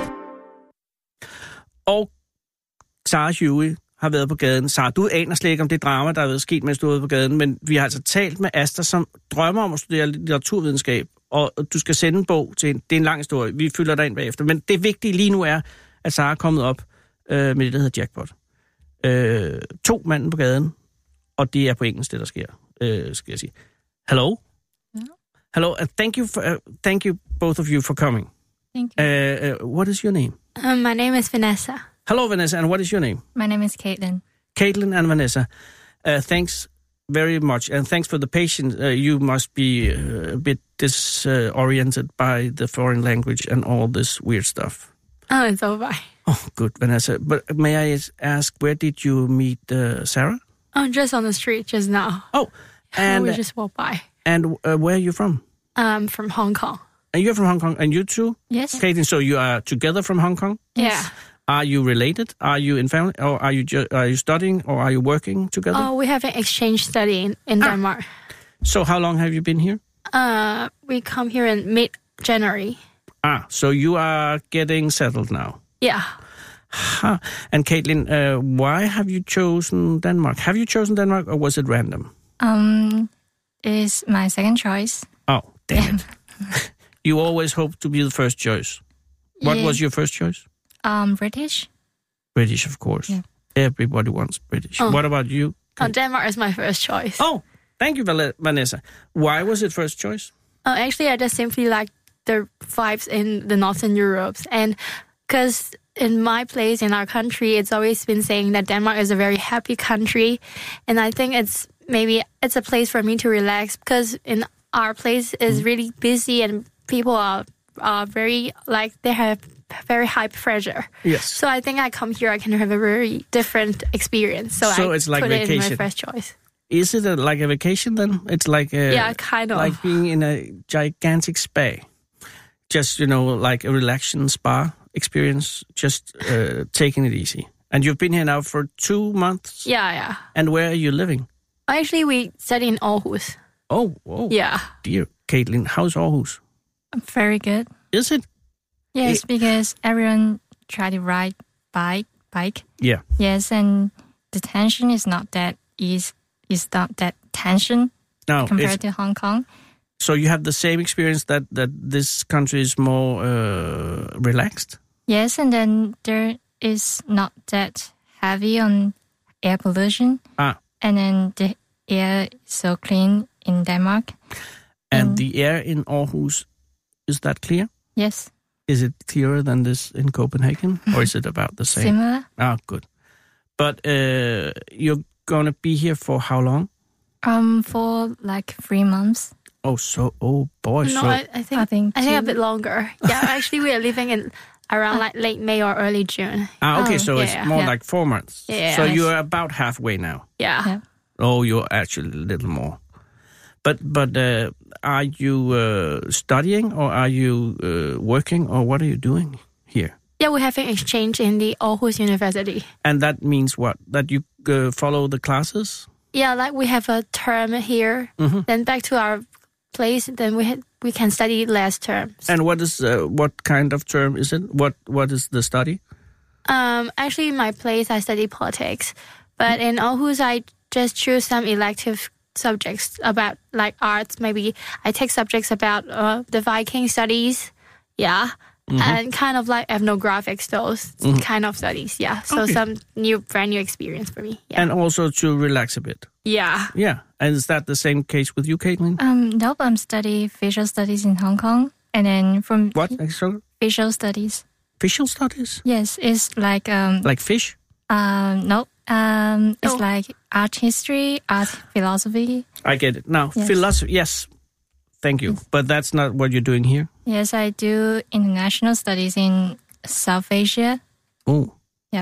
Og Sarah Huey har været på gaden. Sarah, du aner slet ikke om det drama, der er været sket, mens du har været på gaden, men vi har altså talt med Asta, som drømmer om at studere litteraturvidenskab, og du skal sende en bog til en. Det er en lang historie. Vi fylder dig ind bagefter. Men det vigtige lige nu er, at Sarah er kommet op øh, med det, der hedder Jackpot. Øh, to manden på gaden, og det er på engelsk, det der sker, øh, skal jeg sige. Hello? Yeah. Hello, uh, thank you, for, uh, thank you both of you for coming. Thank you. Uh, uh, what is your name? Um, my name is Vanessa. Hello, Vanessa, and what is your name? My name is Caitlin. Caitlin and Vanessa. Uh, thanks very much, and thanks for the patience. Uh, you must be uh, a bit disoriented by the foreign language and all this weird stuff. Oh, it's over. Oh, good, Vanessa. But may I ask, where did you meet uh, Sarah? Oh, just on the street just now. Oh, and we just walked by. And uh, where are you from? Um, from Hong Kong. And you're from Hong Kong, and you too? Yes. Caitlin, so you are together from Hong Kong? Yeah. Are you related? Are you in family? Or are you ju- are you studying? Or are you working together? Oh, we have an exchange study in, in ah. Denmark. So how long have you been here? Uh, we come here in mid-January. Ah, so you are getting settled now? Yeah. Huh. And Caitlin, uh, why have you chosen Denmark? Have you chosen Denmark, or was it random? Um, it's my second choice. Oh, damn it. You always hope to be the first choice. What yeah. was your first choice? Um, British. British, of course. Yeah. Everybody wants British. Oh. What about you? Oh, Denmark is my first choice. Oh, thank you, Vanessa. Why was it first choice? Oh, actually, I just simply like the vibes in the Northern Europe. And because in my place, in our country, it's always been saying that Denmark is a very happy country. And I think it's maybe it's a place for me to relax, because in our place is really busy and people are, are very, like, they have very high pressure. Yes. So I think I come here, I can have a very different experience. So, so I it's like put vacation. it in my first choice. Is it a, like a vacation then? It's like a, yeah, kind of like being in a gigantic spa. Just, you know, like a relaxing spa experience, just uh, taking it easy. And you've been here now for two months? Yeah, yeah. And where are you living? Actually, we study in Aarhus. Oh, oh. Yeah. Dear Caitlin, how's Aarhus? Very good. Is it? Yes, it, because everyone try to ride bike. Bike. Yeah. Yes, and the tension is not that is is not that tension no, compared to Hong Kong. So you have the same experience that, that this country is more uh, relaxed? Yes, and then there is not that heavy on air pollution. Ah. And then the air is so clean in Denmark. And, and the air in Aarhus, is that clear? Yes. Is it clearer than this in Copenhagen? Or is it about the same? Similar. Ah, good. But uh, you're going to be here for how long? Um, For like three months. Oh, so, oh boy. No, so, I, I think, I think, I think a bit longer. Yeah, actually we are living in around like late May or early June. Ah, okay, oh, so yeah, it's yeah. more yeah. like four months. Yeah. So nice. you're about halfway now. Yeah. yeah. Oh, you're actually a little more. But but uh, are you uh, studying or are you uh, working or what are you doing here? Yeah, we have an exchange in the Aarhus University. And that means what? That you uh, follow the classes? Yeah, like we have a term here, mm-hmm. then back to our place, then we ha- we can study last term. And what is uh, what kind of term is it? What What is the study? Um, actually, in my place, I study politics. But in Aarhus, I just choose some elective subjects about like arts. Maybe I take subjects about uh, the Viking studies. Yeah. Mm-hmm. And kind of like ethnographics, those mm-hmm. kind of studies. Yeah. So okay. some new, brand new experience for me. Yeah. And also to relax a bit. Yeah. Yeah. And is that the same case with you, Caitlin? Um, nope. I'm studying visual studies in Hong Kong. And then from... What? Sorry? Visual studies. Visual studies? Yes. It's like... Um, like fish? Um, nope. Um, it's oh. like art history, art philosophy. I get it. Now, yes. philosophy, yes. Thank you. But that's not what you're doing here? Yes, I do international studies in South Asia. Oh. Yeah.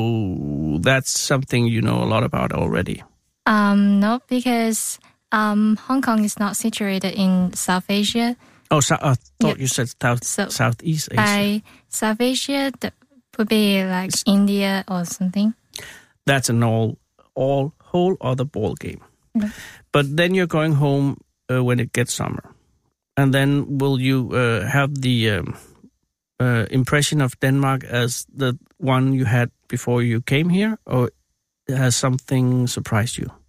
So that's something you know a lot about already? Um, no, because um, Hong Kong is not situated in South Asia. Oh, so, I thought yeah. you said south, so Southeast Asia. By South Asia, that would be like it's, India or something. That's an all, all whole other ball game. Okay. But then you're going home uh, when it gets summer. And then will you uh, have the um, uh, impression of Denmark as the one you had before you came here? Or has something surprised you?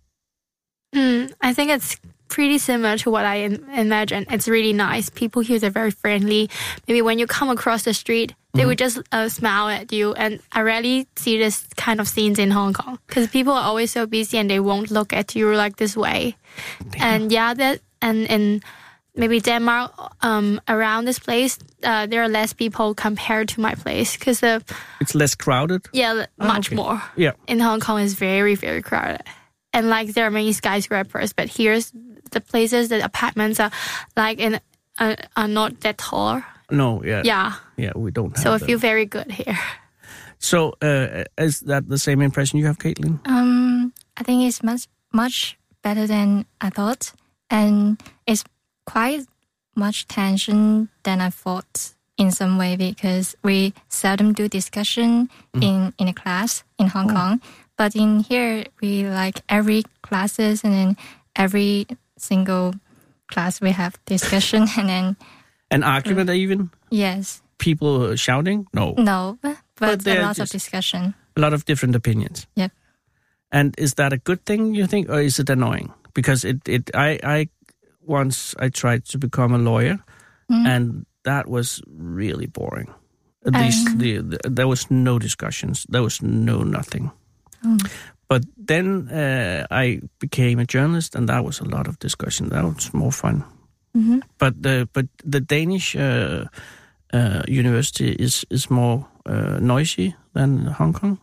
Mm, I think it's pretty similar to what I in- imagine. It's really nice. People here are very friendly. Maybe when you come across the street, they mm-hmm. would just uh, smile at you. And I rarely see this kind of scenes in Hong Kong because people are always so busy and they won't look at you like this way. Damn. And yeah, that and and maybe Denmark, um, around this place, uh, there are less people compared to my place because the it's less crowded. Yeah, oh, much okay. more. Yeah, in Hong Kong is very very crowded. And, like, there are many skyscrapers, but here's the places, the apartments are, like, in, uh, are not that tall. No, yeah. Yeah. Yeah, we don't have So I them. feel very good here. So, uh, is that the same impression you have, Caitlin? Um, I think it's much, much better than I thought. And it's quite much tension than I thought in some way because we seldom do discussion mm. in, in a class in Hong oh. Kong. But in here, we like every classes and then every single class we have discussion and then... An argument uh, even? Yes. People shouting? No. No, but, but a lot just, of discussion. A lot of different opinions? Yep. And is that a good thing, you think, or is it annoying? Because it, it I, I once I tried to become a lawyer mm. and that was really boring. At um, least the, the, there was no discussions. There was no nothing. Mm. But then uh, I became a journalist, and that was a lot of discussion. That was more fun. Mm-hmm. But the but the Danish uh, uh, university is is more uh, noisy than Hong Kong.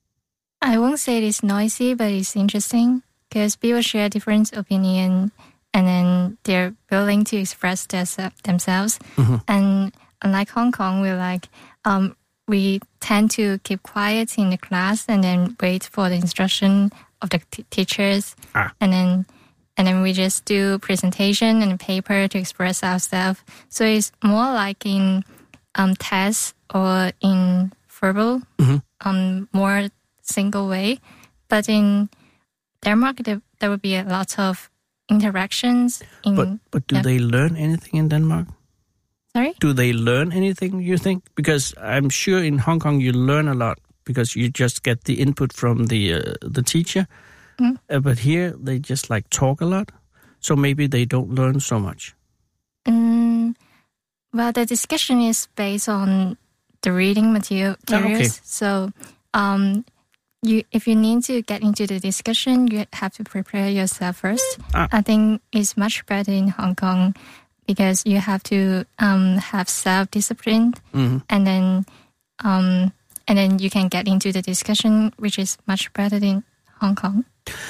I won't say it's noisy, but it's interesting because people share different opinion, and then they're willing to express their, themselves. Mm-hmm. And unlike Hong Kong, we're like. Um, We tend to keep quiet in the class and then wait for the instruction of the t- teachers. Ah. And then and then we just do presentation and paper to express ourselves. So it's more like in um, tests or in verbal, mm-hmm. um, more single way. But in Denmark, there, there will be a lot of interactions. In, but but do yeah. they learn anything in Denmark? Sorry? Do they learn anything, you think? Because I'm sure in Hong Kong you learn a lot because you just get the input from the uh, the teacher. Mm. Uh, but here they just like talk a lot. So maybe they don't learn so much. Mm, well, the discussion is based on the reading material, materials. Oh, okay. So um, you, if you need to get into the discussion, you have to prepare yourself first. Ah. I think it's much better in Hong Kong because you have to um, have self-discipline, mm-hmm. and then um, and then you can get into the discussion, which is much better in Hong Kong.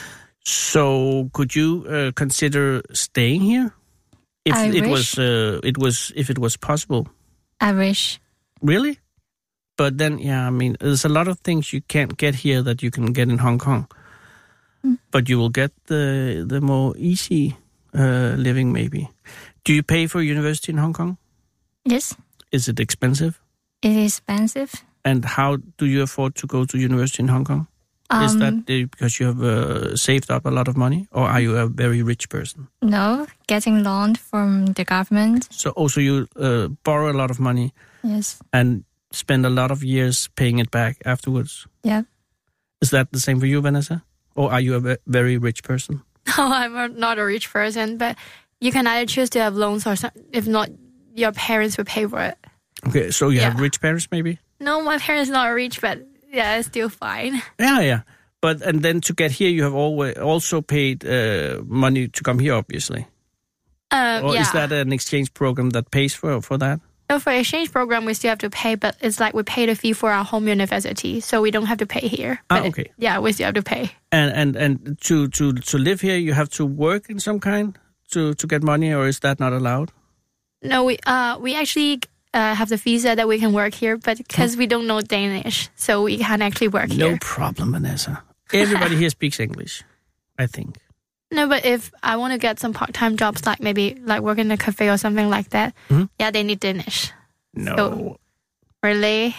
So, could you uh, consider staying here if I it wish. was uh, it was if it was possible? I wish. Really? But then, yeah, I mean, there's a lot of things you can't get here that you can get in Hong Kong. Mm. But you will get the the more easy uh, living, maybe. Do you pay for university in Hong Kong? Yes. Is it expensive? It is expensive. And how do you afford to go to university in Hong Kong? Um, Is that because you have uh, saved up a lot of money, or are you a very rich person? No, getting loan from the government. So also you uh, borrow a lot of money. Yes. And spend a lot of years paying it back afterwards. Yeah. Is that the same for you, Vanessa? Or are you a very rich person? No, I'm not a rich person, but you can either choose to have loans or some, if not, your parents will pay for it. Okay, so you yeah. have rich parents maybe? No, my parents are not rich, but yeah, it's still fine. Yeah, yeah. But and then to get here, you have always also paid uh, money to come here, obviously. Um, or yeah. is that an exchange program that pays for, for that? No, for exchange program, we still have to pay, but it's like we pay the fee for our home university, so we don't have to pay here. Ah, but okay. It, yeah, we still have to pay. And and, and to, to, to live here, you have to work in some kind to, to get money, or is that not allowed? No, we uh we actually uh, have the visa that we can work here, but because we don't know Danish, so we can't actually work no here. No problem, Vanessa. Everybody here speaks English, I think. No, but if I want to get some part-time jobs, like maybe like work in a cafe or something like that, mm-hmm. yeah, they need Danish. No. So, really?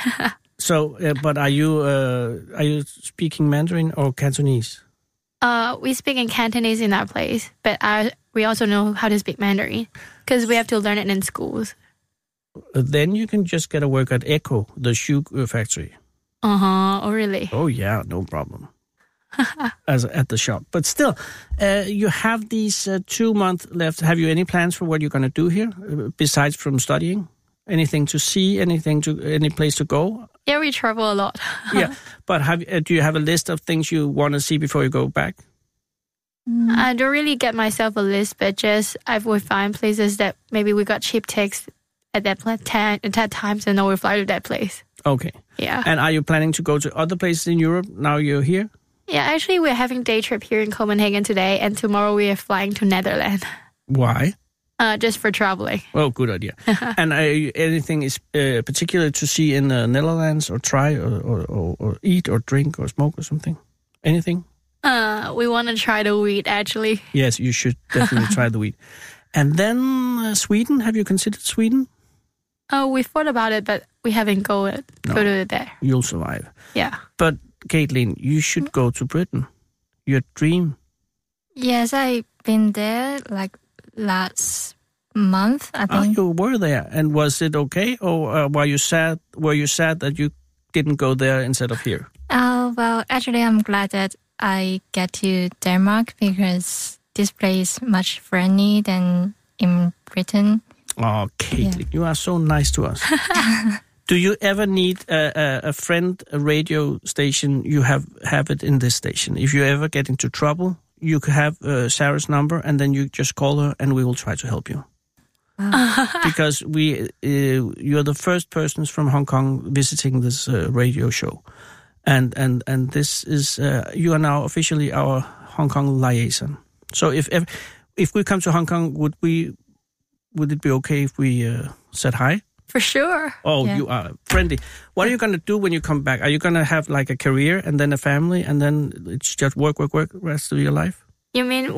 so, uh, but are you uh, are you speaking Mandarin or Cantonese? Uh, we speak in Cantonese in our place, but I, we also know how to speak Mandarin because we have to learn it in schools. Then you can just get a work at Echo, the shoe factory. Uh-huh. Oh, really? Oh, yeah, no problem. As at the shop. But still, uh, you have these uh, two months left. Have you any plans for what you're going to do here, uh, besides from studying? Anything to see? Anything to any place to go? Yeah, we travel a lot. yeah, but have uh, do you have a list of things you want to see before you go back? I don't really get myself a list, but just I would find places that maybe we got cheap tickets at that time, at that time, so now we fly to that place. Okay. Yeah. And are you planning to go to other places in Europe now you're here? Yeah, actually, we're having day trip here in Copenhagen today, and tomorrow we are flying to Netherlands. Why? Uh, just for traveling. Oh, good idea. And uh, anything is uh, particular to see in the Netherlands, or try, or, or, or, or eat, or drink, or smoke, or something? Anything? Uh, we want to try the wheat, actually. Yes, you should definitely try the wheat. And then uh, Sweden. Have you considered Sweden? Oh, we thought about it, but we haven't go it, no, go to it there. You'll survive. Yeah. But Caitlin, you should mm-hmm. go to Britain. Your dream. Yes, I've been there like last month, I think. Oh, you were there, and was it okay, or uh, were you sad? Were you sad that you didn't go there instead of here? Oh, well, actually, I'm glad that I get to Denmark because this place is much friendly than in Britain. Oh, Caitlin, yeah. You are so nice to us. Do you ever need a, a, a friend, a radio station? You have have it in this station. If you ever get into trouble, you could have uh, Sarah's number, and then you just call her, and we will try to help you. Wow. Because we, uh, you're the first persons from Hong Kong visiting this uh, radio show, and and and this is uh, you are now officially our Hong Kong liaison. So if if, if we come to Hong Kong, would we? Would it be okay if we uh, said hi? For sure. Oh, yeah. You are friendly. What are you going to do when you come back? Are you going to have like a career and then a family and then it's just work, work, work the rest of your life? You mean when I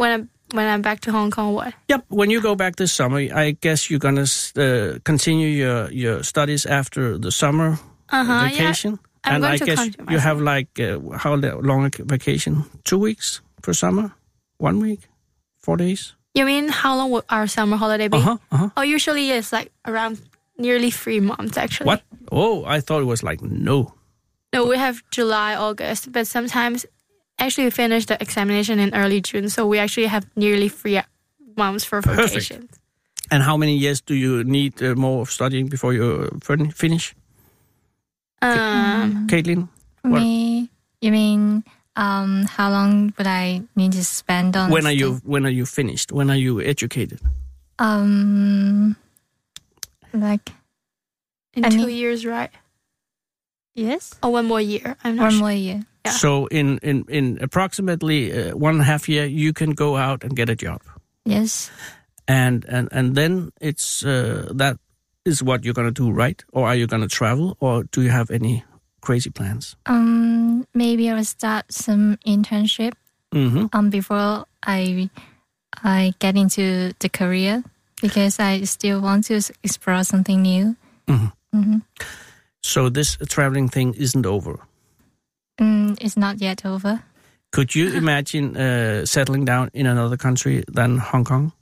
when I'm back to Hong Kong, what? Yep. When you go back this summer, I guess you're gonna uh, continue your, your studies after the summer uh-huh, vacation. Yeah. I'm and going I to guess you have like uh, how long a vacation? Two weeks per summer? One week? Four days? You mean how long would our summer holiday be? Uh-huh, uh-huh. Oh, usually it's like around nearly three months, actually. What? Oh, I thought it was like no. No, we have July, August, but sometimes actually we finish the examination in early June, so we actually have nearly three months for vacation. Perfect. And how many years do you need uh, more of studying before you fin- finish? Um, Caitlin? For what? me, you mean um, how long would I need to spend on? When are you? When are you finished? When are you educated? Um, like in I two mean, years, right? Yes. Or one more year. I'm not one sure. more year. Yeah. So in in in approximately uh, one and a half year, you can go out and get a job. Yes. And and and then it's uh, that. Is what you're going to do, right? Or are you going to travel? Or do you have any crazy plans? Um, maybe I'll start some internship mm-hmm. um, before I I get into the career because I still want to explore something new. Mm-hmm. Mm-hmm. So this traveling thing isn't over? Mm, it's not yet over. Could you imagine uh, settling down in another country than Hong Kong?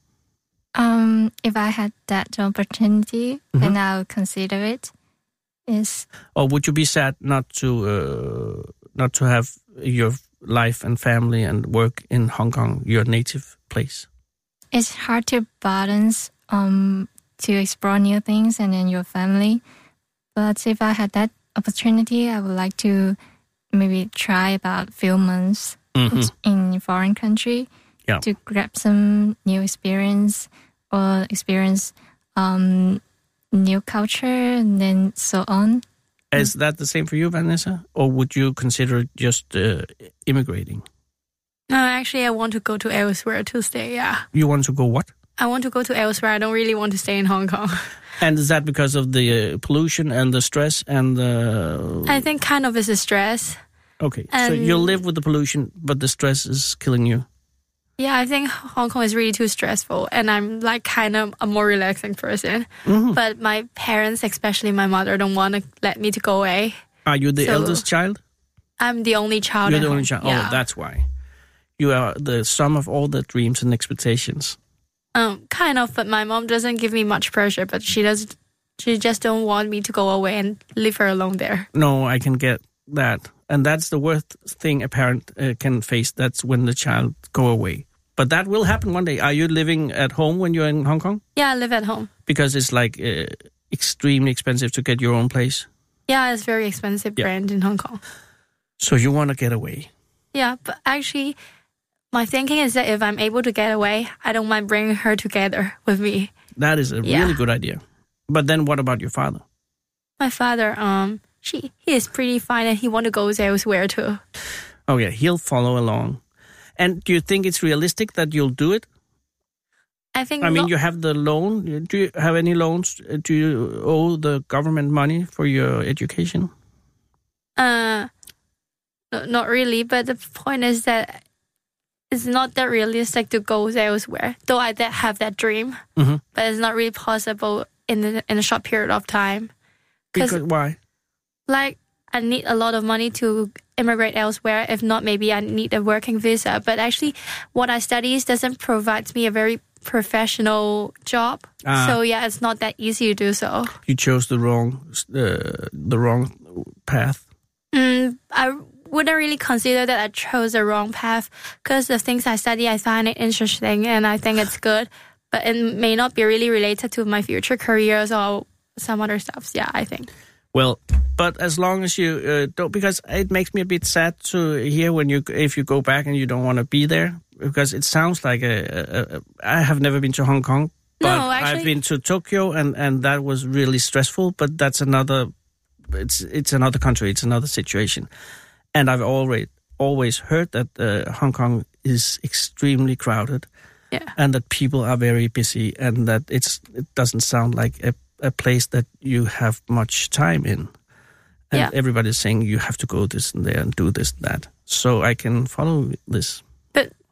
Um, if I had that opportunity, mm-hmm. then I'll consider it. Yes. Or would you be sad not to uh, not to have your life and family and work in Hong Kong, your native place? It's hard to balance um to explore new things and then your family. But if I had that opportunity, I would like to maybe try about few months mm-hmm. in a foreign country. Yeah. To grab some new experience or experience um, new culture and then so on. Is that the same for you, Vanessa? Or would you consider just uh, immigrating? No, actually, I want to go to elsewhere to stay, yeah. You want to go what? I want to go to elsewhere. I don't really want to stay in Hong Kong. And is that because of the uh, pollution and the stress and the... I think kind of is a stress. Okay, and so you'll live with the pollution, but the stress is killing you. Yeah, I think Hong Kong is really too stressful, and I'm like kind of a more relaxing person. Mm-hmm. But my parents, especially my mother, don't want to let me to go away. Are you the so eldest child? I'm the only child. You're the home. only child. Yeah. Oh, that's why. You are the sum of all the dreams and expectations. Um, kind of, but my mom doesn't give me much pressure. But she does. She just don't want me to go away and leave her alone there. No, I can get that, and that's the worst thing a parent uh, can face. That's when the child go away. But that will happen one day. Are you living at home when you're in Hong Kong? Yeah, I live at home. Because it's like uh, extremely expensive to get your own place? Yeah, it's very expensive yeah. rent in Hong Kong. So you want to get away? Yeah, but actually, my thinking is that if I'm able to get away, I don't mind bringing her together with me. That is a yeah. really good idea. But then what about your father? My father, um, she he is pretty fine and he want to go elsewhere too. Oh yeah, he'll follow along. And do you think it's realistic that you'll do it? I think. I mean, lo- you have the loan. Do you have any loans? Do you owe the government money for your education? Uh, no, not really. But the point is that it's not that realistic to go elsewhere. Though I did have that dream, mm-hmm. but it's not really possible in the, in a short period of time. Because why? Like, I need a lot of money to immigrate elsewhere. If not, maybe I need a working visa. But actually, what I study doesn't provide me a very professional job. Ah. So yeah, it's not that easy to do so. You chose the wrong, uh, the wrong path. Mm, I wouldn't really consider that I chose the wrong path because the things I study, I find it interesting and I think it's good. But it may not be really related to my future careers or some other stuff. Yeah, I think. Well, but as long as you uh, don't, because it makes me a bit sad to hear when you, if you go back and you don't want to be there, because it sounds like a, a, a I have never been to Hong Kong, but no, actually, I've been to Tokyo and, and that was really stressful, but that's another, it's it's another country, it's another situation. And I've already always heard that uh, Hong Kong is extremely crowded, yeah, and that people are very busy, and that it's it doesn't sound like a a place that you have much time in. And yeah. everybody's saying you have to go this and there and do this and that. So I can follow this. But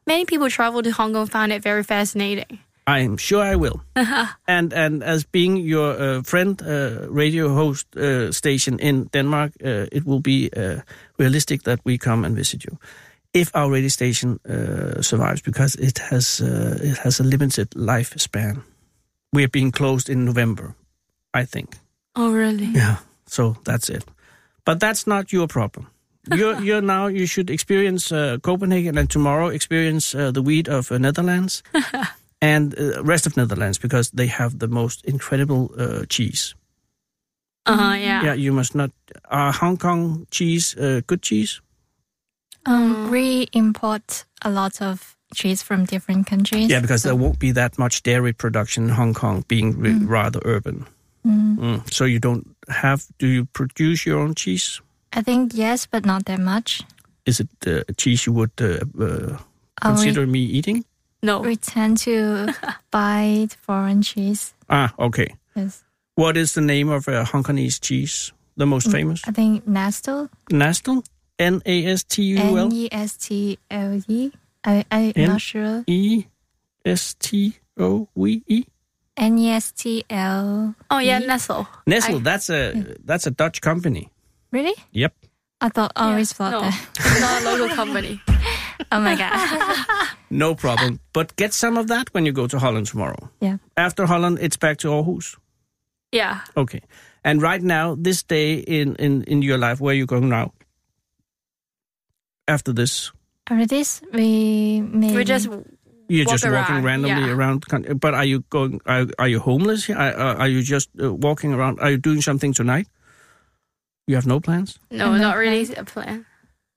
many people travel to Hong Kong found it very fascinating. I'm sure I will. and and as being your uh, friend, uh, radio host uh, station in Denmark, uh, it will be uh, realistic that we come and visit you. If our radio station uh, survives, because it has uh, it has a limited lifespan. We are being closed in November, I think. Oh, really? Yeah. So that's it. But that's not your problem. You're you're now. You should experience uh, Copenhagen, and tomorrow experience uh, the weed of uh, Netherlands. And uh, rest of Netherlands, because they have the most incredible uh, cheese. Uh-huh, yeah. Yeah, you must not... Are Hong Kong cheese uh, good cheese? Um, we import a lot of cheese from different countries. Yeah, because so. there won't be that much dairy production in Hong Kong, being re- mm. rather urban. Mm. Mm. So you don't have... Do you produce your own cheese? I think yes, but not that much. Is it uh, a cheese you would uh, uh, consider we- me eating? No. We tend to buy foreign cheese. Ah, okay. Yes. What is the name of a Hong Kongese cheese? The most famous? I think Nestle. Nestle? N A S T U L? N E S T L E. I, I'm N- not sure. E S T O V E? N E S T L. Oh, yeah, Nestle. Nestle, I, that's a yeah. that's a Dutch company. Really? Yep. I thought I always yeah, thought no, that. It's not a local company. Oh my God. No problem. But get some of that when you go to Holland tomorrow. Yeah. After Holland, it's back to Aarhus. Yeah. Okay. And right now, this day in, in, in your life, where are you going now? After this? After this, we maybe... We just You're walk just walking around, randomly yeah. around. But are you going? Are, are you homeless? Are, are you just uh, walking around? Are you doing something tonight? You have no plans? No, no not plan. really a plan.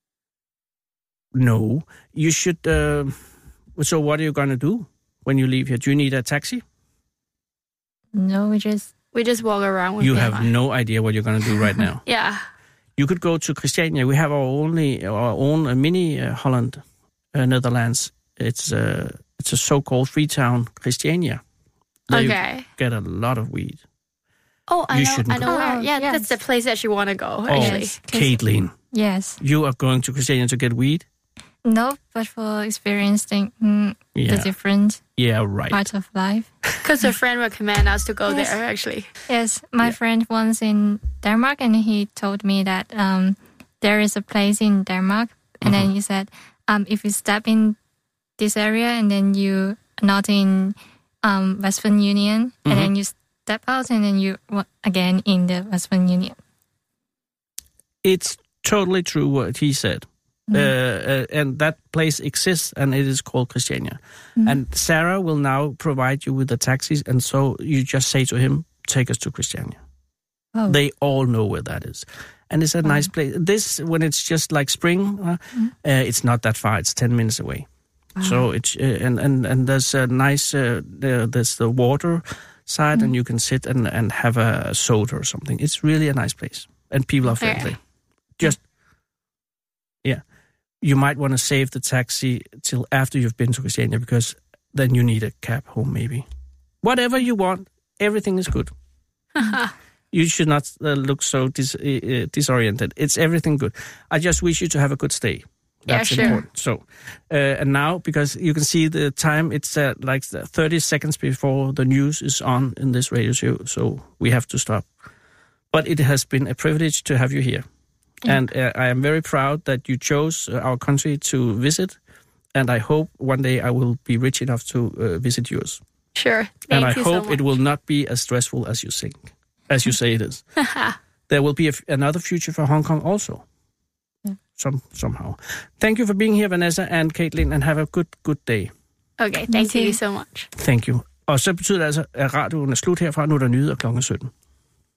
No. You should... Uh, so what are you going to do when you leave here? Do you need a taxi? No, we just... We just walk around. With you them. have no idea what you're going to do right now. Yeah. You could go to Christiania. We have our only our own uh, mini uh, Holland, uh, Netherlands. It's uh, it's a so-called free town, Christiania. There Okay. You get a lot of weed. Oh, I you know. shouldn't I know go. where. Yeah, yes. that's the place that you want to go. Oh, Actually, Caitlin. Yes. You are going to Christiania to get weed? No, but for experiencing mm, Yeah. the different Yeah, right. parts of life. because a friend recommended us to go Yes. there. Actually, Yes, my Yeah. friend was in Denmark, and he told me that um, there is a place in Denmark, and Mm-hmm. then he said, um, if you step in this area and then you are not in um, Western Union, Mm-hmm. and then you step out and then you wa- again in the Western Union. It's totally true what he said. Mm. Uh, uh, and that place exists, and it is called Christiania. Mm. And Sarah will now provide you with the taxis, and so you just say to him, take us to Christiania. Oh. They all know where that is. And it's a Wow. nice place. This, when it's just like spring, uh, Mm. uh, it's not that far. It's ten minutes away. So it's, uh, and, and, and there's a nice, uh, there, there's the water side, Mm. and you can sit and, and have a soda or something. It's really a nice place. And people are friendly. Just, yeah. You might want to save the taxi till after you've been to Christiania, because then you need a cab home, maybe. Whatever you want, everything is good. You should not uh, look so dis- uh, disoriented. It's everything good. I just wish you to have a good stay. That's Yeah, sure. important. So, uh, and now, because you can see the time, it's uh, like thirty seconds before the news is on in this radio show, so we have to stop. But it has been a privilege to have you here. Yeah. And uh, I am very proud that you chose uh, our country to visit. And I hope one day I will be rich enough to uh, visit yours. sure. Thank and I you hope so much. it will not be as stressful as you think, as you say it is. There will be a f- another future for Hong Kong also. Yeah. Some somehow. Thank you for being here, Vanessa and Caitlin, and have a good, good day. Okay, thank too. you so much. Thank you. Og så betyder det altså, at radioen er slut herfra. Nu er der nyheder klokken sytten.